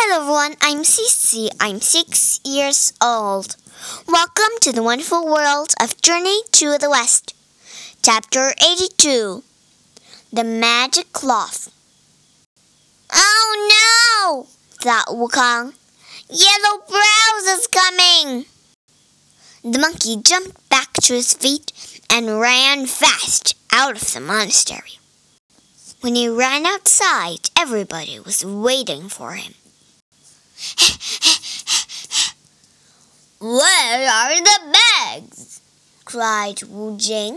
Hello everyone, I'm Cece. I'm 6 years old. Welcome to the wonderful world of Journey to the West. Chapter 82. The Magic Cloth. Oh no! thought Wukong. Yellow Brows is coming! The monkey jumped back to his feet and ran fast out of the monastery. When he ran outside, everybody was waiting for him. Where are the bags? cried Wu Jing.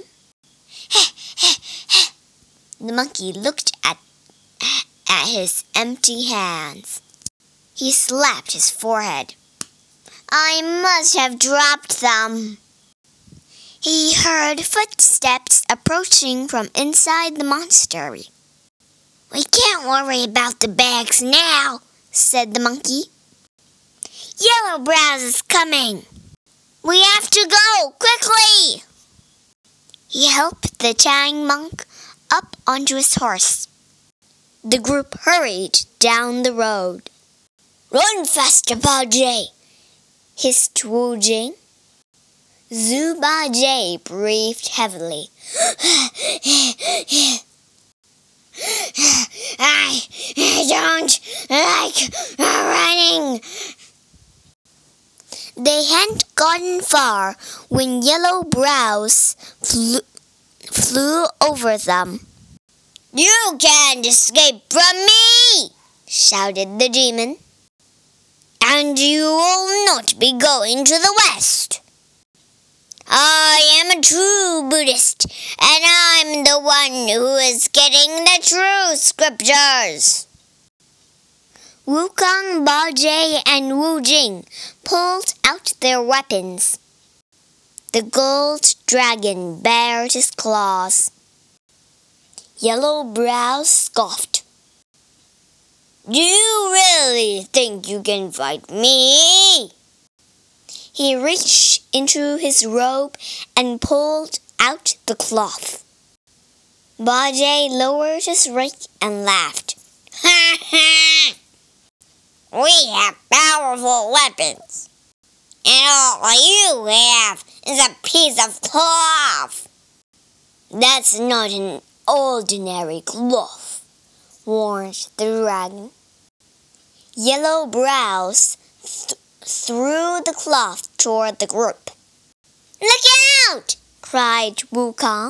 The monkey looked at his empty hands. He slapped his forehead. I must have dropped them. He heard footsteps approaching from inside the monastery. We can't worry about the bags now, said the monkey. Yellow Brows is coming. We have to go, quickly! He helped the Tang monk up onto his horse. The group hurried down the road. Run faster, Bajie, hissed Wu Jing. Zhu Bajie breathed heavily. I don't like running. They hadn't gotten far when Yellow Brows flew over them. You can't escape from me, shouted the demon. And you will not be going to the west. I am a true Buddhist, and I'm the one who is getting the true scriptures. Wukong, Bajie, and Wu Jing pulled out their weapons. The gold dragon bared his claws. Yellow Brows scoffed. Do you really think you can fight me? He reached into his robe and pulled out the cloth. Bajie lowered his rake and laughed. Ha ha! We have powerful weapons, and all you have is a piece of cloth. That's not an ordinary cloth, warned the dragon. Yellow Brows threw the cloth toward the group. Look out! cried Wukong.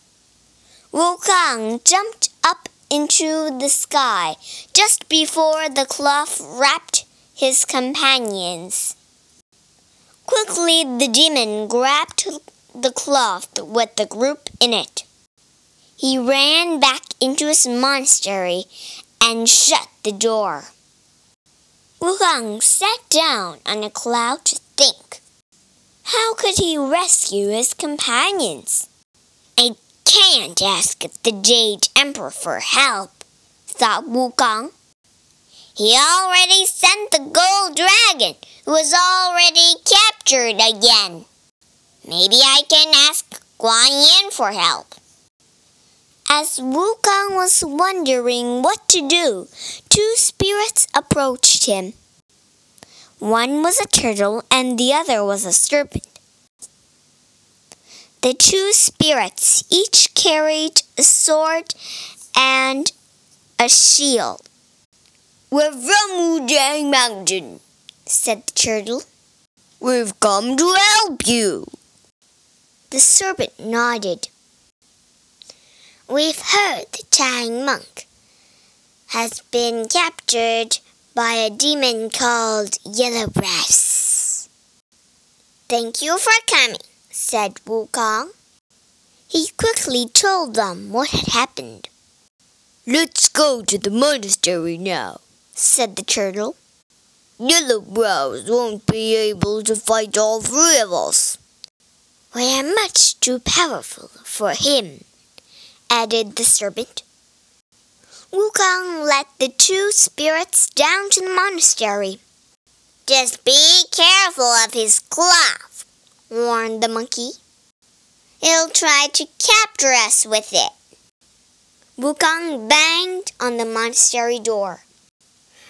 Wukong jumped up into the sky just before the cloth wrapped his companions. Quickly the demon grabbed the cloth with the group in it. He ran back into his monastery and shut the door. Wukong sat down on a cloud to think. How could he rescue his companions? I can't ask the Jade Emperor for help, thought Wukong. He already sent the gold dragon, who was already captured again. Maybe I can ask Guan Yin for help. As Wukong was wondering what to do, two spirits approached him. One was a turtle and the other was a serpent. The two spirits each carried a sword and a shield. We're from Wujang Mountain, said the turtle. We've come to help you. The serpent nodded. We've heard the Tang monk has been captured by a demon called Yellow Brows. Thank you for coming, said Wukong. He quickly told them what had happened. Let's go to the monastery now, said the turtle. Yellow Brows won't be able to fight all three of us. We are much too powerful for him, added the serpent. Wukong led the two spirits down to the monastery. Just be careful of his cloth, warned the monkey. He'll try to capture us with it. Wukong banged on the monastery door. Release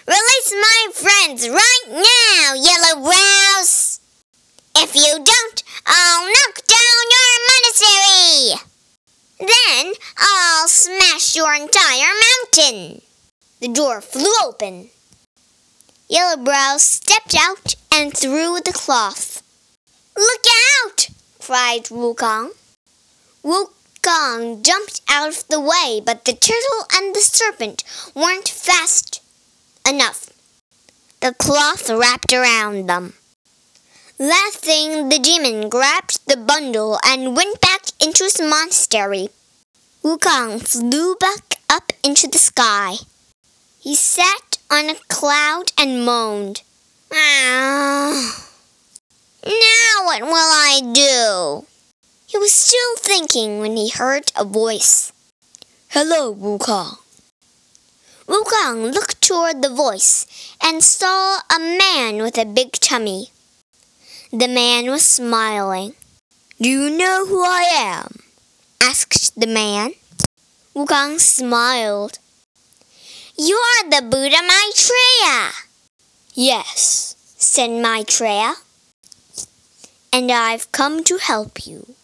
face my friends right now, Yellow Brows. If you don't, I'll knock down your monastery. Then I'll smash your entire mountain. The door flew open. Yellow Brows stepped out and threw the cloth. Look out! Cried Wukong. Wukong jumped out of the way, but the turtle and the serpent weren't fast enough. The cloth wrapped around them. Laughing, the demon grabbed the bundle and went back into his monastery. Wukong flew back up into the sky. He sat on a cloud and moaned. Now what will I do? He was still thinking when he heard a voice. Hello, Wukong. Wukong looked toward the voice and saw a man with a big tummy. The man was smiling. Do you know who I am? Asked the man. Wukong smiled. You're the Buddha Maitreya. Yes, said Maitreya. And I've come to help you.